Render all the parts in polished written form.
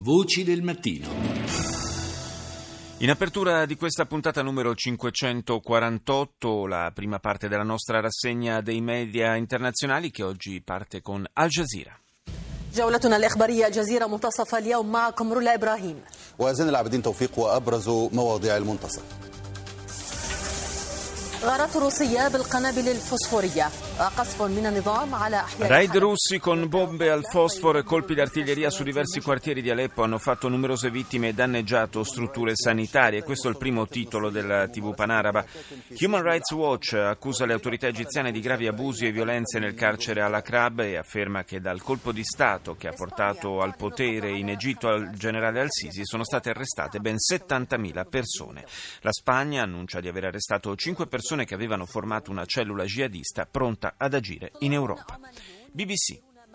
Voci del mattino. In apertura di questa puntata numero 548, la prima parte della nostra rassegna dei media internazionali che oggi parte con Al Jazeera. جولتنا الإخبارية الجزيرة منتصف اليوم معكم رولا إبراهيم وزين العابدين توفيق وأبرز مواضيع المنتصف. غارات روسية بالقنابل الفوسفورية قصف من النظام على أحياء Raid russi con bombe al fosforo e colpi d'artiglieria su diversi quartieri di Aleppo hanno fatto numerose vittime e danneggiato strutture sanitarie. Questo è il primo titolo della TV panaraba. Human Rights Watch accusa le autorità egiziane di gravi abusi e violenze nel carcere al-Akrab e afferma che dal colpo di Stato che ha portato al potere in Egitto al generale al-Sisi sono state arrestate ben 70.000 persone. La Spagna annuncia di aver arrestato 5 persone che avevano formato una cellula jihadista pronta ad agire in Europa. BBC.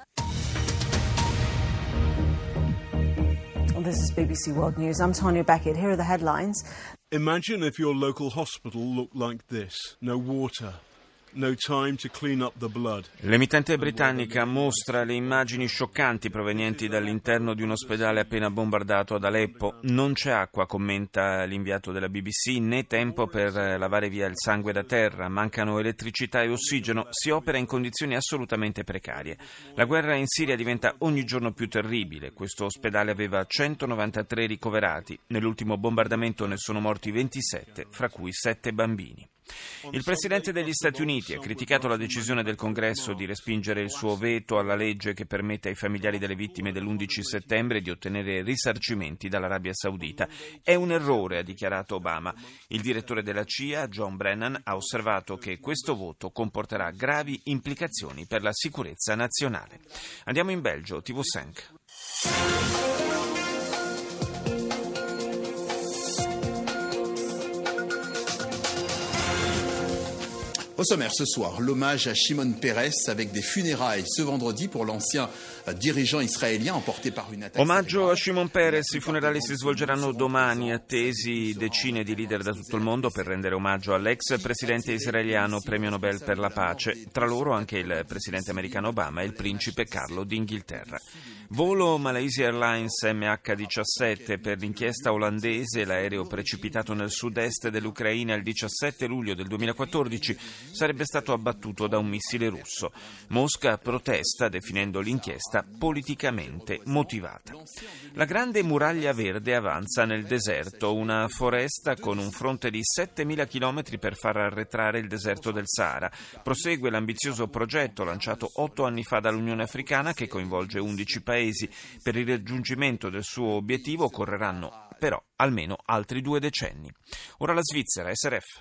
This is BBC World News. I'm Tanya Beckett. Here are the headlines. Imagine if your local hospital looked like this. No water. No time to clean up the blood. L'emittente britannica mostra le immagini scioccanti provenienti dall'interno di un ospedale appena bombardato ad Aleppo. Non c'è acqua, commenta l'inviato della BBC, né tempo per lavare via il sangue da terra, mancano elettricità e ossigeno, si opera in condizioni assolutamente precarie. La guerra in Siria diventa ogni giorno più terribile. Questo ospedale aveva 193 ricoverati. Nell'ultimo bombardamento ne sono morti 27, fra cui 7 bambini. Il presidente degli Stati Uniti ha criticato la decisione del Congresso di respingere il suo veto alla legge che permette ai familiari delle vittime dell'11 settembre di ottenere risarcimenti dall'Arabia Saudita. È un errore, ha dichiarato Obama. Il direttore della CIA, John Brennan, ha osservato che questo voto comporterà gravi implicazioni per la sicurezza nazionale. Andiamo in Belgio, TV5. Au sommaire ce soir, l'hommage à Shimon Peres avec des funérailles ce vendredi pour l'ancien dirigeant israélien emporté par une attaque. Omaggio a Shimon Peres, i funerali si svolgeranno domani, attesi decine di leader da tutto il mondo per rendere omaggio all'ex presidente israeliano premio Nobel per la pace, tra loro anche il presidente americano Obama e il principe Carlo d'Inghilterra. Volo Malaysia Airlines MH17 per l'inchiesta olandese, l'aereo precipitato nel sud-est dell'Ucraina il 17 luglio del 2014 sarebbe stato abbattuto da un missile russo. Mosca protesta definendo l'inchiesta politicamente motivata. La grande muraglia verde avanza nel deserto, una foresta con un fronte di 7.000 chilometri per far arretrare il deserto del Sahara. Prosegue l'ambizioso progetto lanciato 8 anni fa dall'Unione Africana che coinvolge 11 paesi. Per il raggiungimento del suo obiettivo occorreranno però almeno altri 2 decenni. Ora la Svizzera, SRF.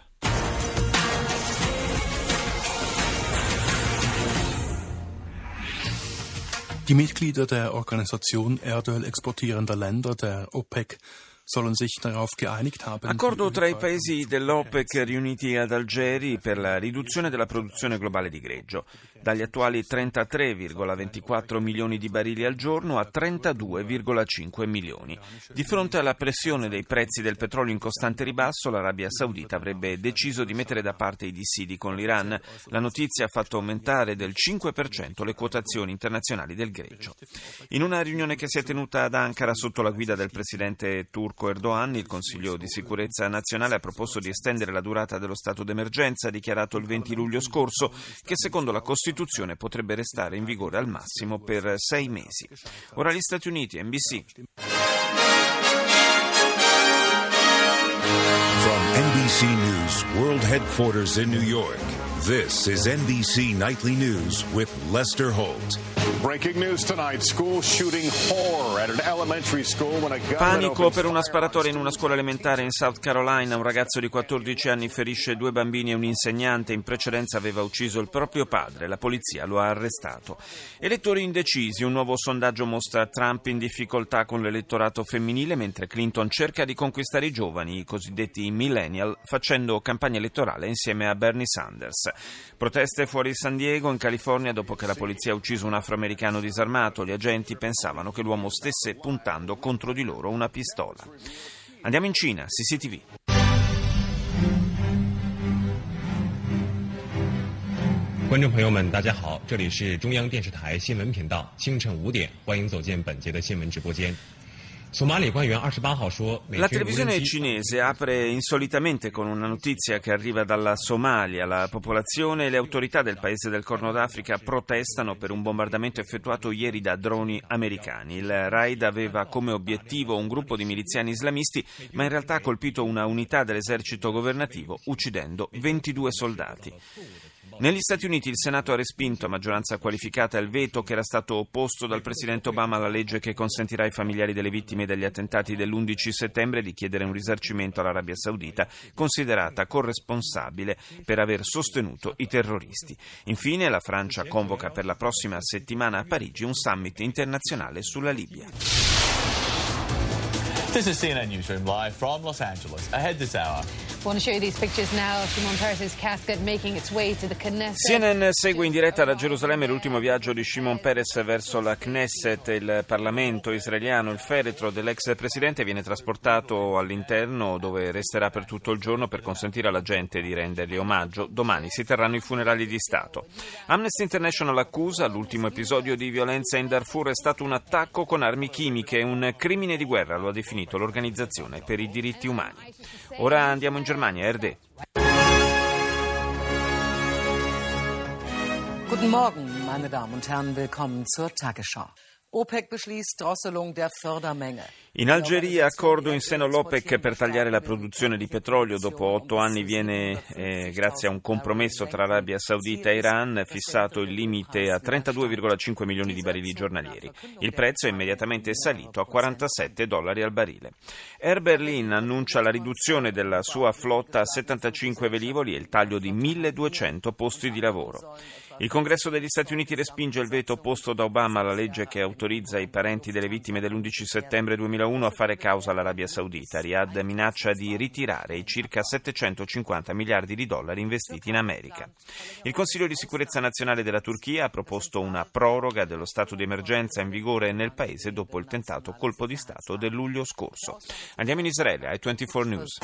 Die Mitglieder der Organisation Erdöl exportierender Länder, der OPEC, sollen sich darauf geeinigt haben. Accordo tra i paesi dell'OPEC riuniti ad Algeri per la riduzione della produzione globale di greggio, dagli attuali 33,24 milioni di barili al giorno a 32,5 milioni. Di fronte alla pressione dei prezzi del petrolio in costante ribasso, l'Arabia Saudita avrebbe deciso di mettere da parte i dissidi con l'Iran. La notizia ha fatto aumentare del 5% le quotazioni internazionali del greggio. In una riunione che si è tenuta ad Ankara sotto la guida del presidente turco Erdogan, il Consiglio di Sicurezza Nazionale ha proposto di estendere la durata dello stato d'emergenza dichiarato il 20 luglio scorso, che secondo la Costituzione potrebbe restare in vigore al massimo per 6 mesi. Ora gli Stati Uniti, NBC. From NBC News World Headquarters in New York, this is NBC Nightly News with Lester Holt. Breaking news tonight, school shooting horror at an elementary school when a gunman Panico per una sparatoria in una scuola elementare in South Carolina. Un ragazzo di 14 anni ferisce 2 bambini e un insegnante. In precedenza aveva ucciso il proprio padre. La polizia lo ha arrestato. Elettori indecisi. Un nuovo sondaggio mostra Trump in difficoltà con l'elettorato femminile, mentre Clinton cerca di conquistare i giovani, i cosiddetti millennial, facendo campagna elettorale insieme a Bernie Sanders. Proteste fuori San Diego, in California, dopo che la polizia ha ucciso un afroamericano disarmato. Gli agenti pensavano che l'uomo stesse puntando contro di loro una pistola. Andiamo in Cina, CCTV. 观众朋友们，大家好，这里是中央电视台新闻频道，清晨5点，欢迎走进本节的新闻直播间。 La televisione cinese apre insolitamente con una notizia che arriva dalla Somalia. La popolazione e le autorità del paese del Corno d'Africa protestano per un bombardamento effettuato ieri da droni americani. Il raid aveva come obiettivo un gruppo di miliziani islamisti, ma in realtà ha colpito una unità dell'esercito governativo, uccidendo 22 soldati. Negli Stati Uniti il Senato ha respinto a maggioranza qualificata il veto che era stato opposto dal presidente Obama alla legge che consentirà ai familiari delle vittime degli attentati dell'11 settembre di chiedere un risarcimento all'Arabia Saudita, considerata corresponsabile per aver sostenuto i terroristi. Infine la Francia convoca per la prossima settimana a Parigi un summit internazionale sulla Libia. This is CNN Newsroom live from Los Angeles. Ahead this hour. I want to show you these pictures now of Shimon Peres' casket making its way to the Knesset. CNN segue in diretta da Gerusalemme l'ultimo viaggio di Shimon Peres verso la Knesset, il Parlamento israeliano. Il feretro dell'ex presidente viene trasportato all'interno, dove resterà per tutto il giorno per consentire alla gente di rendergli omaggio. Domani si terranno i funerali di Stato. Amnesty International accusa l'ultimo episodio di violenza in Darfur è stato un attacco con armi chimiche, un crimine di guerra, lo ha definito l'Organizzazione per i diritti umani. Ora andiamo in Germania, RD. Guten Morgen, meine Damen und Herren, willkommen zur Tagesschau. OPEC beschließt Drosselung der Fördermenge. In Algeria, accordo in seno all'OPEC per tagliare la produzione di petrolio. Dopo 8 anni viene, grazie a un compromesso tra Arabia Saudita e Iran, fissato il limite a 32,5 milioni di barili giornalieri. Il prezzo è immediatamente salito a $47 al barile. Air Berlin annuncia la riduzione della sua flotta a 75 velivoli e il taglio di 1.200 posti di lavoro. Il Congresso degli Stati Uniti respinge il veto posto da Obama alla legge che autorizza i parenti delle vittime dell'11 settembre 2001 a fare causa all'Arabia Saudita. Riyadh minaccia di ritirare i circa $750 miliardi investiti in America. Il Consiglio di sicurezza nazionale della Turchia ha proposto una proroga dello stato di emergenza in vigore nel paese dopo il tentato colpo di Stato del luglio scorso. Andiamo in Israele, ai 24 News.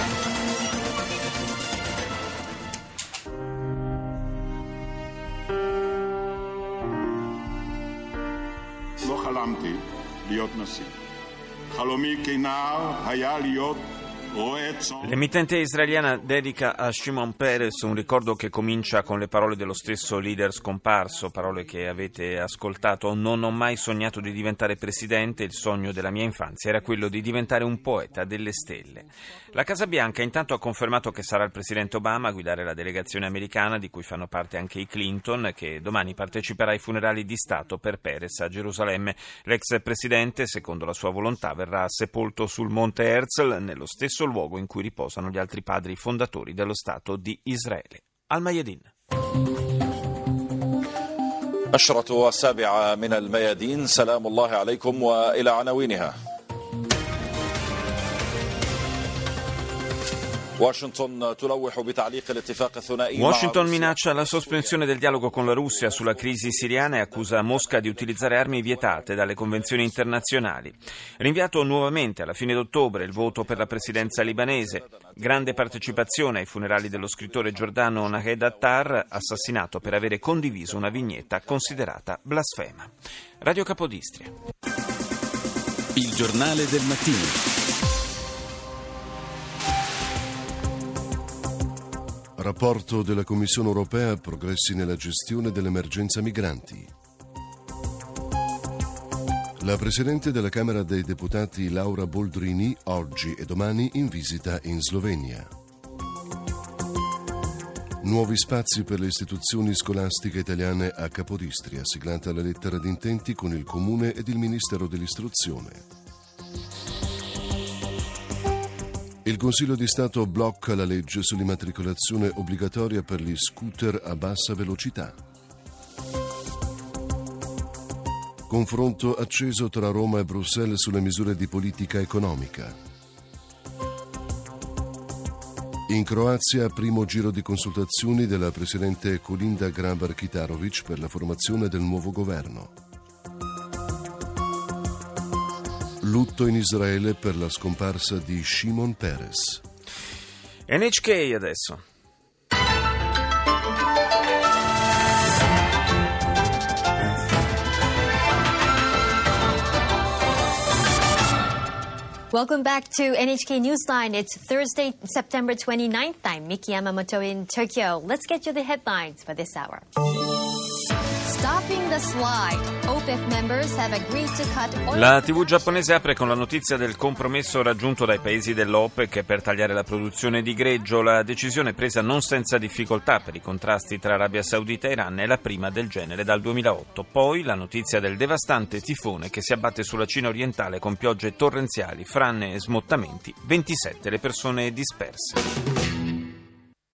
לא חלמתי להיות נשיא. חלומי כנער היה להיות רועה צאן. L'emittente israeliana dedica a Shimon Peres un ricordo che comincia con le parole dello stesso leader scomparso, parole che avete ascoltato. Non ho mai sognato di diventare presidente, il sogno della mia infanzia era quello di diventare un poeta delle stelle. La Casa Bianca intanto ha confermato che sarà il presidente Obama a guidare la delegazione americana, di cui fanno parte anche i Clinton, che domani parteciperà ai funerali di Stato per Peres a Gerusalemme. L'ex presidente, secondo la sua volontà, verrà sepolto sul Monte Herzl, nello stesso luogo in cui riposano gli altri padri fondatori dello Stato di Israele. Al-Mayadin. نشرة 7 من الميادين سلام الله عليكم وإلى عناوينها. Washington minaccia la sospensione del dialogo con la Russia sulla crisi siriana e accusa Mosca di utilizzare armi vietate dalle convenzioni internazionali. Rinviato nuovamente alla fine d'ottobre il voto per la presidenza libanese. Grande partecipazione ai funerali dello scrittore giordano Nahed Attar, assassinato per avere condiviso una vignetta considerata blasfema. Radio Capodistria. Il giornale del mattino. Rapporto della Commissione europea, progressi nella gestione dell'emergenza migranti. La Presidente della Camera dei Deputati Laura Boldrini oggi e domani in visita in Slovenia. Nuovi spazi per le istituzioni scolastiche italiane a Capodistria, siglata la lettera di intenti con il Comune ed il Ministero dell'Istruzione. Il Consiglio di Stato blocca la legge sull'immatricolazione obbligatoria per gli scooter a bassa velocità. Confronto acceso tra Roma e Bruxelles sulle misure di politica economica. In Croazia, primo giro di consultazioni della Presidente Kolinda Grabar-Kitarović per la formazione del nuovo governo. Lutto in Israele per la scomparsa di Shimon Peres. NHK adesso. Welcome back to NHK Newsline. It's Thursday, September 29th. I'm Miki Yamamoto in Tokyo. Let's get you the headlines for this hour. Stopping the slide. OPEC members have agreed to cut oil. La TV giapponese apre con la notizia del compromesso raggiunto dai paesi dell'OPEC per tagliare la produzione di greggio. La decisione presa non senza difficoltà per i contrasti tra Arabia Saudita e Iran è la prima del genere dal 2008. Poi la notizia del devastante tifone che si abbatte sulla Cina orientale con piogge torrenziali, frane e smottamenti, 27 le persone disperse.